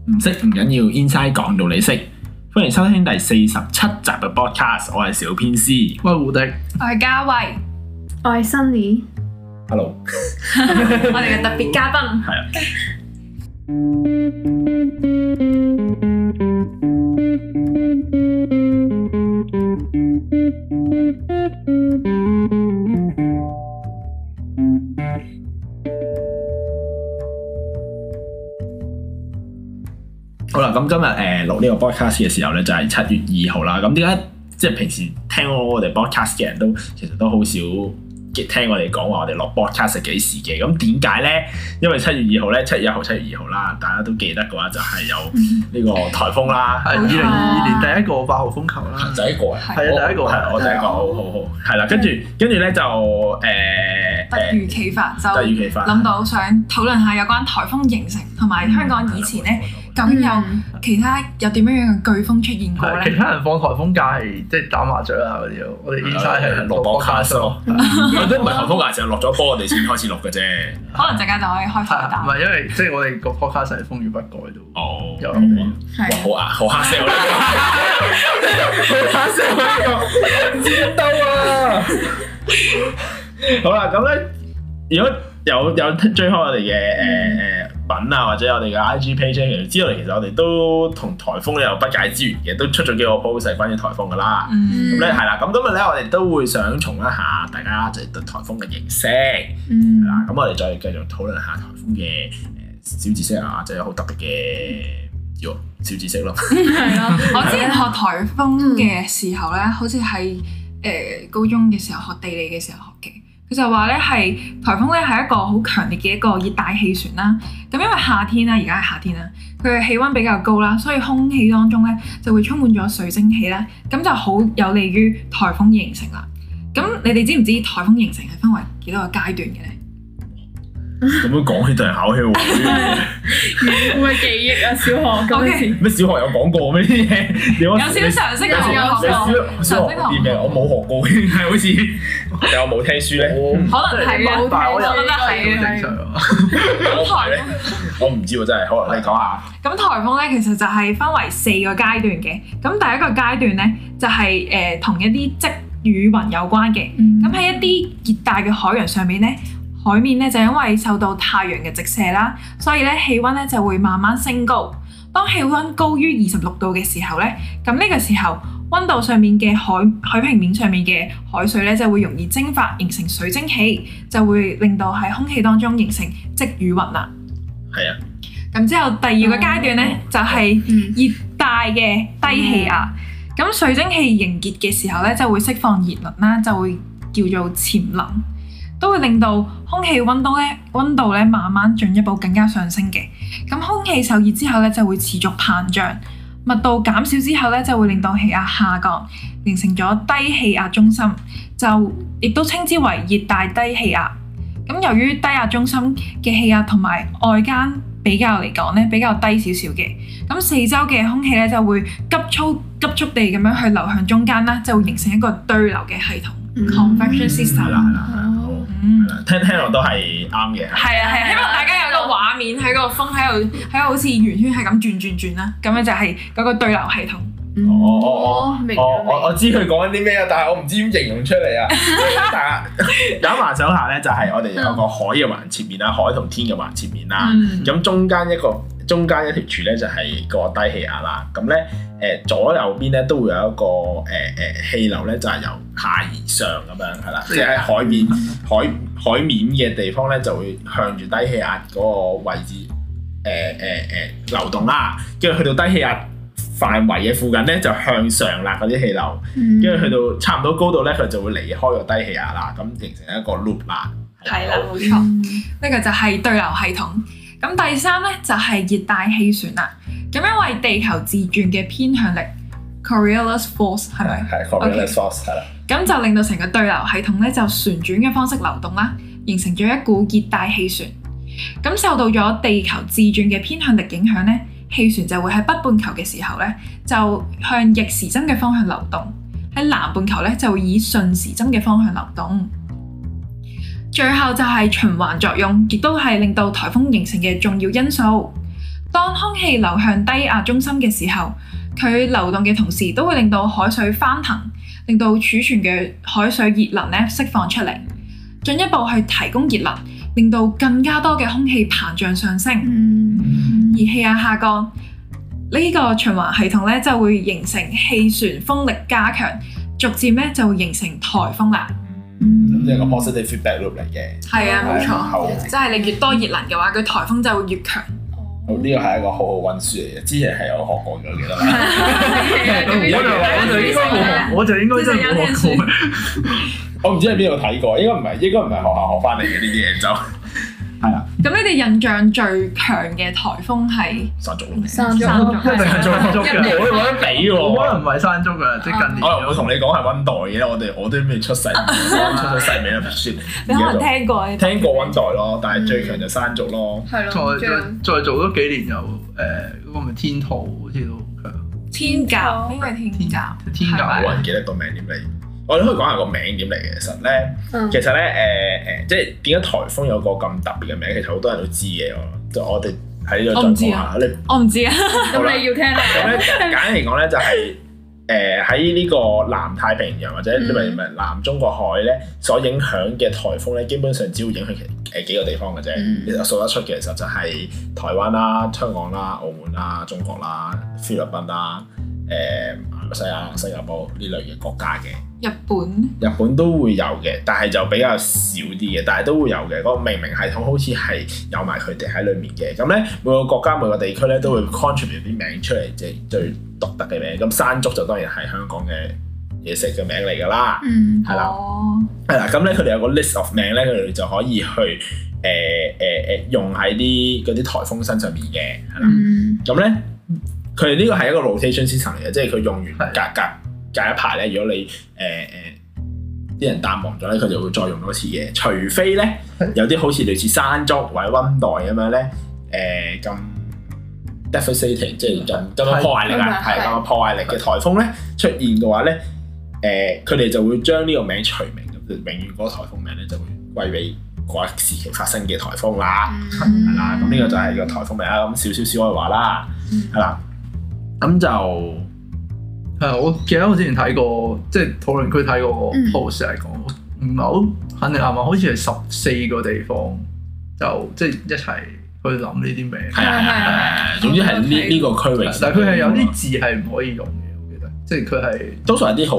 唔識唔緊要 ，Inside 講到你識。歡迎收聽第47集嘅 podcast， 我係小編師， 我係胡迪， 我係嘉慧， 我係 Sunny。 Hello， 我哋嘅特別嘉賓係啊。好啦，咁今日錄呢個 podcast 嘅時候咧，就係7月2號啦。咁點解即係平時聽我哋 podcast 嘅人都其實都好少聽我哋講話我哋落 podcast 係幾時嘅？咁點解咧？因為7月2號咧，7月1號、7月2號啦，大家都記得嘅話就係有呢個颱風啦， 係2022年第一個8號風球啦， 第一個係啊，第一個係我第一個，好係啦，跟住咧就突如其發就突如其發諗到想討論下有關颱風形成同埋香港以前咧。究竟有其他有點樣樣嘅颶風出現過咧？ 其他人放颱風假係即係打麻雀啊嗰啲咯，我哋 Inside 係錄 podcast 咯，或者唔係颱風假，就係落咗波我哋先開始錄嘅啫。 可能陣間就可以開台打。 唔係因為即係我哋個 podcast 係風雨不改都有好啊，好黑色呢個，好黑色呢個，唔知道啊！好啦，咁咧，如果有追開我哋嘅品啊，或者我哋嘅 IG page 其實知道其實我哋都同颱風咧有不解之緣嘅，都出咗幾個 post 係關於颱風噶啦。咁咧係啦，咁今日咧我哋都會想重一下大家就對颱風嘅認識。係啦，咁我哋再繼續討論下颱風嘅小知識啊，即係好特別嘅小知識咯。 係咯，我之前學颱風嘅時候咧，好似係高中嘅時候學地理嘅時候學嘅。佢就話咧係颱風咧係一個好強烈嘅一個熱帶氣旋啦。咁因為夏天啦，而家係夏天啦，佢嘅氣溫比較高啦，所以空氣當中咧就會充滿咗水蒸氣啦，咁就好有利於颱風形成啦。咁你哋知唔知颱風形成係分為幾多個階段嘅咧？ 咁樣講起就係考起喎， 會唔會記憶啊？小學嗰陣時咩小學有講過咩啲嘢？ 有少少常識啊， 小學啲咩？我冇學過，係好似有冇聽書咧？ 可能係啊，我覺得係正常啊。 我唔知喎，真係。好啦，你講下。 咁颱風咧，其實就係分為4個階段嘅。咁第一個階段咧，就係同一啲積雨雲有關嘅。咁喺一啲熱帶嘅海洋上面咧。海面咧就因為受到太陽嘅直射啦，所以咧氣溫咧就會慢慢升高。當氣溫高於26度嘅時候咧，咁呢個時候溫度上面嘅海平面上面嘅海水咧就會容易蒸發，形成水蒸氣，就會令到喺空氣當中形成積雨雲啦。 係啊。 咁之後第2個階段咧就係熱帶嘅低氣壓。咁水蒸氣凝結嘅時候咧就會釋放熱能啦，就會叫做潛能。都會令到空氣溫度咧慢慢進一步更加上升嘅。咁空氣受熱之後咧就會持續膨脹，密度減少之後咧就會令到氣壓下降，形成咗低氣壓中心，就亦都稱之為熱帶低氣壓。咁由於低壓中心嘅氣壓同埋外間比較嚟講咧比較低少少嘅，咁四周嘅空氣咧就會急速地咁樣去流向中間啦，就會形成一個對流嘅系統。Convection system 係啦，聽落都係啱嘅。 係啊，希望大家有個畫面喺個風喺度好似圓圈係咁轉啦，咁樣就係嗰個對流系統。 我知佢講緊啲咩啊，但係我唔知點形容出嚟啊。大家玩手下咧，就係我哋有個海嘅橫切面啦，海同天嘅橫切面啦。咁中間一條柱咧就係個低氣壓啦。咁咧左右邊咧都會有一個氣流咧，就係由下而上咁樣係啦，即係喺海面嘅地方咧就會向住低氣壓嗰個位置流動啦，跟住去到低氣壓範圍嘅附近咧就向上啦，嗰啲氣流，跟住去到差唔多高度咧，佢就會離開個低氣壓啦，咁形成一個 loop 啦。 係啦，冇錯，呢個就係對流系統。咁第3咧就係熱帶氣旋啦。咁因為地球自轉嘅偏向力 Coriolis force 係咪？ 係 Coriolis force 係啦。 咁就令到成個對流系統咧就旋轉嘅方式流動啦，形成咗一股熱帶氣旋。咁受到咗地球自轉嘅偏向力影響咧，氣旋就會喺北半球嘅時候咧就向逆時針嘅方向流動，喺南半球咧就會以順時針嘅方向流動。最後就係循環作用，亦都係令到颱風形成嘅重要因素。 當空氣流向低壓中心嘅時候，佢流動嘅同時都會令到海水翻騰，令到儲存嘅海水熱能咧釋放出嚟，進一步去提供熱能，令到更加多嘅空氣膨脹上升。而氣壓下降，呢個循環系統咧就會形成氣旋風力加強，逐漸咧就會形成颱風啦。 即係個 positive feedback loop 嚟嘅。 係啊，冇錯，即係你越多熱能嘅話，佢颱風就會越強。 呢個係一個好好溫書嚟嘅，之前係有學過嘅，記得啦。 我就應該真係冇學過。 我唔知喺邊度睇過，應該唔係學校學翻嚟嘅呢啲嘢就係啦。 咁你哋印象最強嘅颱風係山竹？ 一定係山竹嘅， 我冇得比喎。 可能唔係山竹㗎，即係近年。 我又會同你講係溫帶嘅，我都未出世，出咗世未啦，算。 你可能聽過溫帶咯，但係最強就山竹咯。 係咯。 再做多幾年又嗰個咪天兔好似都好強。 天鴿應該係天鴿。 天鴿冇人記得個名點嚟。我哋可以講下個名點嚟嘅。其實咧，即係點解颱風有個咁特別嘅名？其實好多人都知嘅。我哋喺呢度再講下。 我唔知啊。 咁你要聽啦。 咁咧簡單嚟講咧，就係喺呢個南太平洋或者唔係南中國海咧所影響嘅颱風咧，基本上只會影響幾個地方嘅啫。其實數得出嘅其實就係台灣啦、香港啦、澳門啦、中國啦、菲律賓啦、馬來西亞、新加坡呢類嘅國家嘅。日本都會有嘅，但係就比較少啲嘅，但係都會有嘅。嗰個命名系統好似係有埋佢哋喺裡面嘅。咁咧每個國家每個地區咧都會 contribute 啲名出嚟，即係最獨特嘅名。咁山竹就當然係香港嘅嘢食嘅名嚟㗎啦，係啦，係啦。咁咧佢哋有個 list of 名咧，佢哋就可以去用喺嗰啲颱風身上面嘅，係啦。咁咧佢哋呢個係一個 rotation system 嚟嘅，即係佢用完隔一排咧，如果你啲人淡忘咗咧，佢就會再用多次嘅。除非咧有啲好似類似山竹或者溫帶咁樣咧，咁 devastating 即係咁樣破壞力啊，係咁樣破壞力嘅颱風咧出現嘅話咧，佢哋就會將呢個名除名，咁就永遠嗰個颱風名咧就會歸俾嗰一時期發生嘅颱風啦，係啦。咁呢個就係個颱風名啦。咁少外話啦，係啦。咁就。 我記得我之前睇過，即係討論區睇過個 post 嚟講，唔係好肯定係嘛？好似係14個地方，就即係一齊去諗呢啲名。 係，總之係呢個區域。 但係佢係有啲字係唔可以用嘅，我記得，即係佢係多數係啲好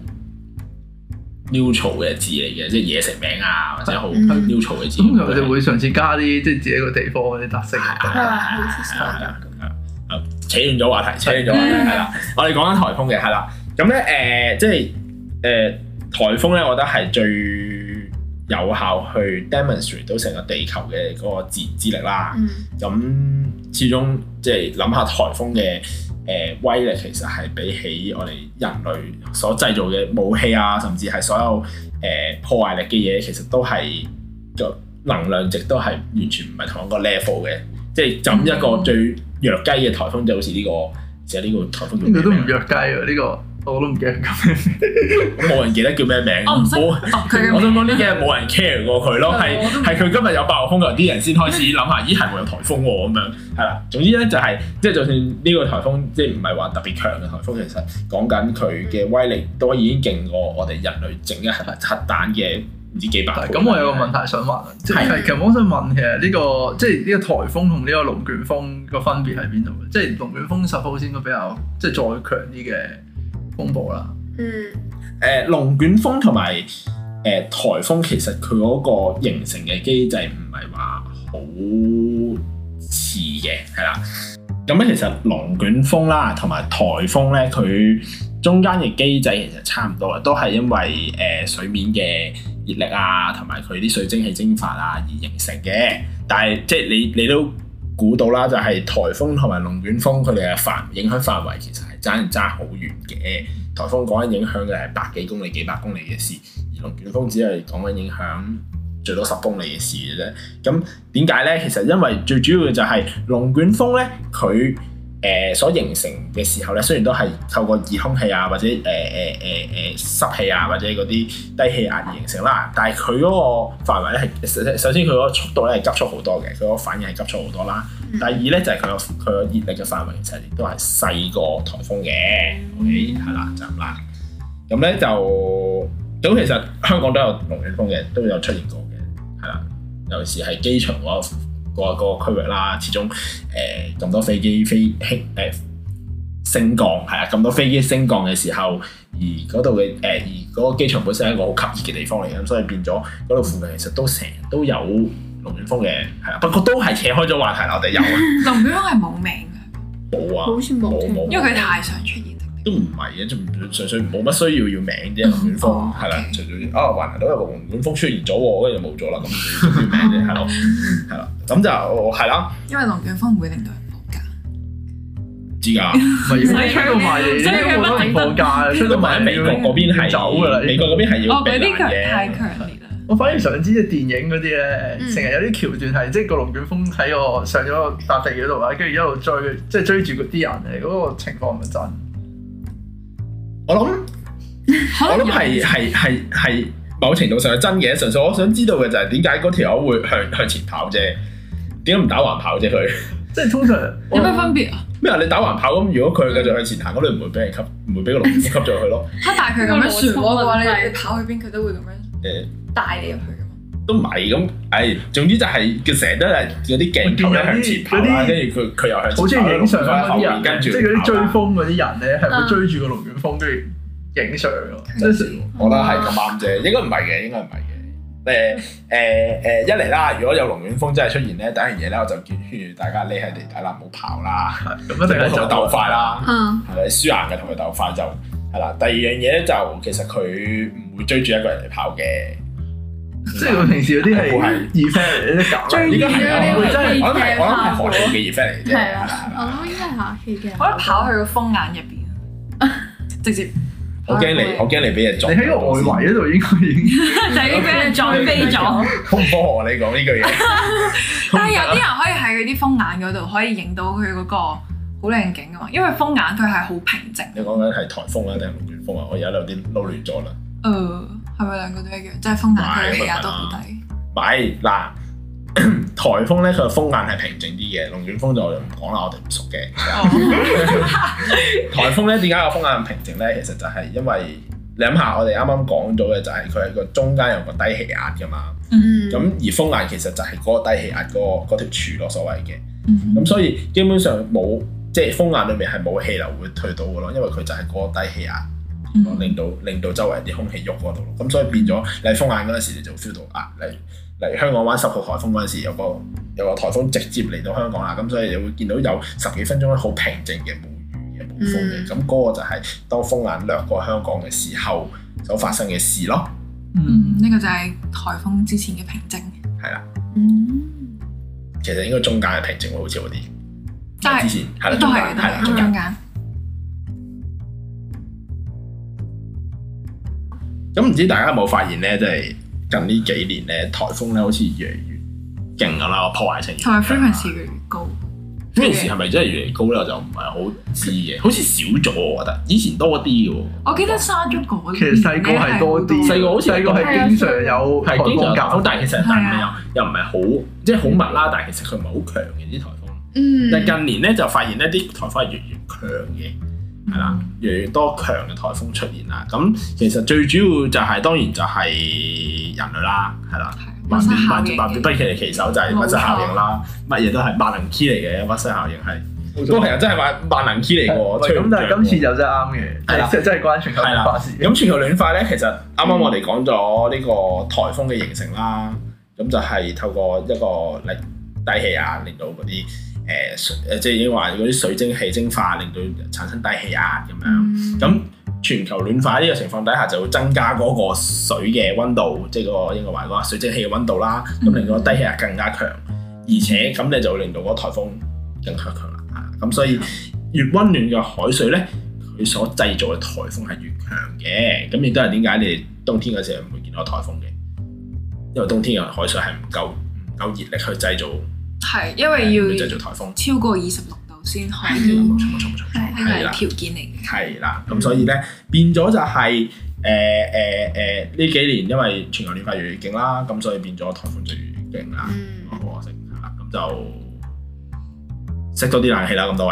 neutral 嘅字嚟嘅，即係嘢食名啊，或者好 neutral 嘅字。 咁佢哋會嘗試加啲即係自己個地方嗰啲特色。 係扯遠咗話題，係啦。我哋講緊颱風嘅，係啦。咁咧即係颱風咧，我覺得係最有效去 demonstrate 到成個地球嘅嗰個自然之力啦。咁始終即係諗下颱風嘅威力，其實係比起我哋人類所製造嘅武器啊，甚至係所有破壞力嘅嘢，其實都係個能量值都係完全唔係同一個 level 嘅。即係就一個最弱雞嘅颱風，就好似呢個，就係呢個颱風。 呢個都唔弱雞喎，呢個我都唔記得叫咩名。 冇人記得叫咩名。 我唔識讀佢。 我想講呢幾日冇人 care 過佢咯，係佢今日有8號風球，啲人先開始諗下，咦係會有颱風喎咁樣，係啦。總之咧就係即係就算呢個颱風即係唔係話特別強嘅颱風，其實講緊佢嘅威力都已經勁過我哋人類整一核彈嘅。唔知幾百倍。咁我有個問題想問，即係其實我想問其實呢個即係呢個颱風同呢個龍捲風個分別喺邊度？即係龍捲風suppose應該比較即係再強啲嘅風暴啦。 龍捲風同埋颱風其實佢嗰個形成嘅機制唔係話好似嘅，係啦。咁咧其實龍捲風啦同埋颱風咧，佢中間嘅機制其實差唔多嘅，都係因為水面嘅熱力啊，同埋佢啲水蒸氣蒸發啊而形成嘅。但係即係你都估到啦，就係颱風同埋龍捲風佢哋嘅影響範圍其實係爭好遠嘅。颱風講緊影響嘅係百幾公里、幾百公里嘅事，而龍捲風只係講緊影響最多10公里嘅事嘅啫。咁點解咧？其實因為最主要嘅就係龍捲風咧，佢所形成嘅時候咧，雖然都係透過熱空氣啊，或者濕氣啊，或者嗰啲低氣壓而形成啦，但係佢嗰個範圍咧係首先佢嗰個速度咧係急速好多嘅，佢嗰個反應係急速好多啦。第二咧就係佢個熱力嘅範圍其實亦都係細過颱風嘅，OK 係啦就咁啦。咁咧就咁其實香港都有龍捲風嘅，都有出現過嘅，係啦，尤其是係機場嗰個區域啦，始終咁多飛機升降係啊，咁多飛機升降嘅時候，而嗰度嘅而嗰個機場本身係一個好吸熱嘅地方嚟嘅，咁所以變咗嗰度附近其實都成日都有龍捲風嘅，係啊，不過都係扯開咗話題啦，我哋有龍捲風係冇名嘅， 冇啊，好似冇， 因為佢太常出現。 都唔係嘅，純粹冇乜需要名啫。龍捲風係啦，除咗環球都有個龍捲風出現咗喎，跟住就冇咗啦，咁要名啫，係咯，係啦，咁就係啦。因為龍捲風唔會令到人放假，知㗎， 唔係吹到埋嚟，所以佢不停放假，吹到埋喺美國嗰邊係走㗎啦， 美國嗰邊係要避難嘅。 嗰啲太強烈啦。 我反而想知即係電影嗰啲咧，成日有啲橋段係即係個龍捲風喺個上咗個笪地嗰度啊，跟住一路追，即係追住嗰啲人嚟，嗰個情況係咪真？ 我諗係某程度上係真嘅，純粹我想知道嘅就係點解嗰條友會向前跑啫？點解唔打橫跑啫？佢即係通常有咩分別啊？ 咩啊？你打橫跑咁，如果佢繼續向前行，咁你唔會俾人吸，唔會俾個龍捲風吸咗去咯。 但係佢咁樣旋渦嘅話，你跑去邊佢都會咁樣帶你入去㗎嘛？ 都唔係咁，總之就係佢成日都係嗰啲鏡頭咧向前跑啦，跟住佢又向前跑， 好似影相嗰啲人， 跟住即係嗰啲追風嗰啲人咧，係會追住個龍捲風跟住影相㗎。真係我覺得係咁啱啫，應該唔係嘅，應該唔係嘅。一嚟啦，如果有龍捲風真係出現咧，第一樣嘢咧我就叫大家匿喺地底啦，唔好跑啦，咁一定係同佢鬥快啦，係咪輸硬嘅同佢鬥快就係啦。第二樣嘢咧就其實佢唔會追住一個人嚟跑嘅。 即係我平時嗰啲係 effect 嚟，啲搞最應該係我真係我諗係荷里活嘅 effect 嚟啫。 係啊，我諗應該係下期嘅。 我覺得跑去個風眼入邊，直接。 我驚你俾人撞。 你喺個外圍嗰度應該已經就已經俾人撞飛咗。 好唔科學你講呢句嘢。 但係有啲人可以喺嗰啲風眼嗰度可以影到佢嗰個好靚景㗎嘛，因為風眼佢係好平靜。 你講緊係颱風啊定係龍捲風啊？我而家有啲撈亂咗啦。 係咪兩個都一樣？即係風眼佢氣壓都好低。 唔係嗱，颱風咧佢個風眼係平靜啲嘅，龍捲風就唔講啦，我哋唔熟嘅。颱風咧點解個風眼咁平靜咧？其實就係因為你諗下，我哋啱啱講咗嘅就係佢係個中間有個低氣壓㗎嘛。咁而風眼其實就係嗰個低氣壓嗰條柱咯，所謂嘅。咁所以基本上冇即係風眼裏面係冇氣流會退到嘅咯，因為佢就係嗰個低氣壓。令到周圍啲空氣喐嗰度，咁所以變咗你喺風眼嗰陣時，你就 feel 到啊，嚟香港玩10號颱風嗰陣時，有個颱風直接嚟到香港啦，咁所以你會見到有10幾分鐘好平靜嘅冇雨嘅冇風嘅，咁嗰個就係當風眼掠過香港嘅時候所發生嘅事咯。 呢個就係颱風之前嘅平靜。 係啦。其實應該中間嘅平靜喎，好似嗰啲。 但係之前係啦， 都係中間。 咁唔知大家有冇發現咧，即係近呢幾年咧，颱風咧好似越嚟越勁咁啦，個破壞性同埋 frequency 越嚟越高。 frequency 係咪真係越嚟越高咧？我就唔係好知嘅，好似少咗我覺得，以前多啲嘅喎。 我記得沙中嗰其實細個係多啲，細個好似係經常有颱風搞， 但係其實又唔係好即係好密啦，但係其實佢唔係好強嘅啲颱風。但係近年咧就發現咧啲颱風係越嚟越強嘅。係啦，越嚟越多強嘅颱風出現啦。咁其實最主要就係當然就係人類啦，係啦，萬變不離其手就係溫室效應啦。乜嘢都係萬能 key 嚟嘅，溫室效應係都係真係萬能 key 嚟嘅。 咁但係今次就真係啱嘅，係啦，真係關全球暖化事。 咁全球暖化咧，其實啱啱我哋講咗呢個颱風嘅形成啦，咁就係透過一個低氣壓令到嗰啲。即係已經話嗰啲水蒸氣蒸發，令到產生低氣壓咁樣。咁全球暖化呢個情況底下，就會增加嗰個水嘅溫度，即係嗰個應該話嗰個水蒸氣嘅溫度啦。咁令到低氣壓更加強，而且咁你就會令到嗰個颱風更加強啦。咁所以越溫暖嘅海水咧，佢所製造嘅颱風係越強嘅。咁亦都係點解你哋冬天嗰時候唔會見到颱風嘅？因為冬天嘅海水係唔夠熱力去製造。 係，因為要製造颱風超過26度先可以， 冇錯， 呢個係條件嚟嘅。 係啦，咁所以咧變咗就係呢幾年因為全球暖化越嚟越勁啦，咁所以變咗颱風就越嚟越勁啦，好可惜係啦，咁就熄多啲冷氣啦，咁多位，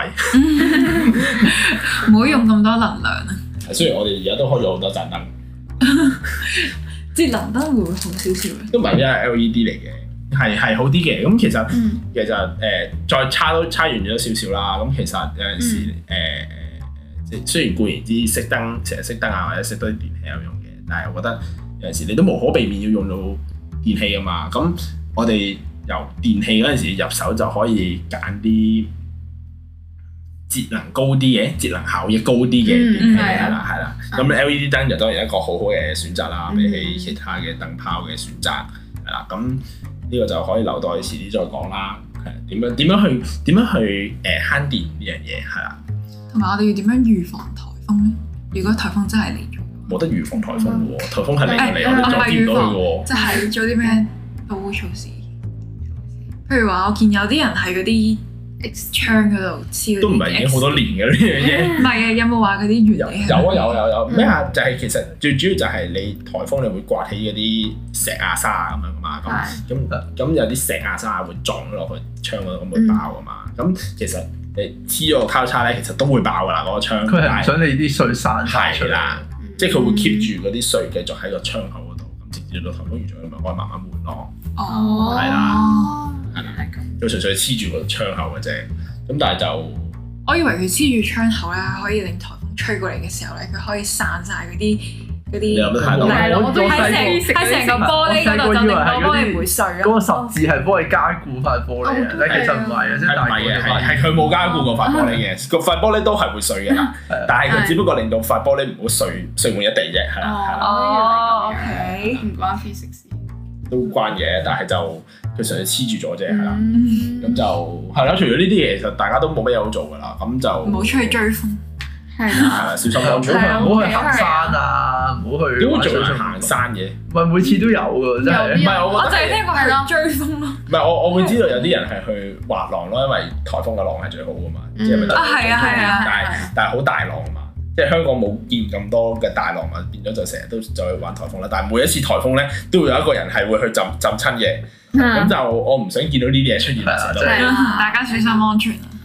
唔好用咁多能量啊！ 雖然我哋而家都開咗好多盞燈， 節能燈會唔會好少少咧？ 都唔係因為 LED 嚟嘅，係好啲嘅。咁其實再差遠咗少少啦。咁其實有陣時即係雖然固然之熄燈成日熄燈啊，或者熄多啲電器有用嘅，但係我覺得有陣時你都無可避免要用到電器㗎嘛。咁我哋由電器嗰陣時入手就可以揀啲節能高啲嘅、節能效益高啲嘅電器係啦。咁 LED 燈就當然一個好好嘅選擇啦，比起其他嘅燈泡嘅選擇係啦。咁呢個就可以留待遲啲再講啦。係點樣去慳電呢樣嘢係啦。 同埋我哋要點樣預防颱風咧？如果颱風真係嚟咗， 冇得預防颱風嘅喎，颱風係嚟我哋再見到佢嘅喎。 即係做啲咩保護措施？譬如話，我見有啲人喺嗰啲窗嗰度黐， 都唔係已經好多年嘅呢樣嘢。 唔係啊，有冇話嗰啲原理？ 有咩啊？就係其實最主要就係你颱風你會刮起嗰啲石啊沙啊咁樣噶嘛。咁有啲石啊沙會撞落去窗嗰度，咁會爆噶嘛。咁其實你黐咗個交叉咧，其實都會爆噶啦嗰個窗。 佢係唔想你啲水散晒出嚟啦， 即係佢會 keep 住嗰啲水繼續喺個窗口嗰度，咁直至到颱風完咗，咪可以慢慢換咯。 哦， 係啦，就純粹黐住個窗口嘅啫。咁但係就我以為佢黐住窗口咧，可以令颱風吹過嚟嘅時候咧，佢可以散晒嗰啲。 你諗得太多啦！ 喺成個玻璃嗰度就令到玻璃唔會碎咯。 嗰個十字係幫你加固塊玻璃嘅，但其實唔係嘅，即係大嘅， 係佢冇加固嗰塊玻璃嘅，個塊玻璃都係會碎嘅啦。但係佢只不過令到塊玻璃唔好碎滿一地啫，係啦。 哦，OK， 唔關 physics 都關嘅，但係就佢純粹黐住咗啫，係啦。咁就係啦。除咗呢啲嘢，其實大家都冇乜嘢好做㗎啦。咁就唔好出去追風。 係啦， 小心安全， 唔好去行山啊，唔好去。 點會做行山嘅？ 唔係每次都有㗎，真係。 唔係我就係聽過係追風咯。 唔係我會知道有啲人係去滑浪咯，因為颱風嘅浪係最好㗎嘛，即係咪？ 係啊， 但係好大浪啊嘛，即係香港冇見咁多嘅大浪啊，變咗就成日都就去玩颱風啦。但係每一次颱風咧，都會有一個人係會去浸親嘅，咁就我唔想見到呢啲嘢出現啦。 大家小心安全啊！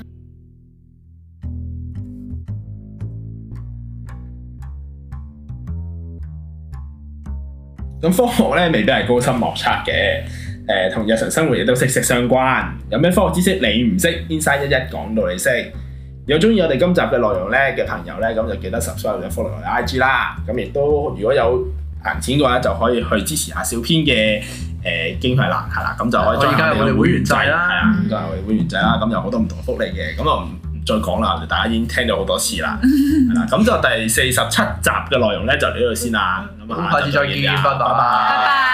咁科學咧未必係高深莫測嘅，同日常生活亦都息息相關。有咩科學知識你唔識，Inside 11講到你識。有中意我哋今集嘅內容咧嘅朋友咧，咁就記得 subscribe 或者 follow 我哋 IG 啦。咁亦都如果有閒錢嘅話，就可以去支持下小編嘅經費欄，係啦，咁就可以加入我哋會員制啦，係啊，加入我哋會員制啦。咁有好多唔同嘅福利嘅，咁啊唔再講啦，大家已經聽咗好多次啦，係啦。咁就第47集嘅內容咧就嚟到呢度先啦。咁下次再見，拜拜。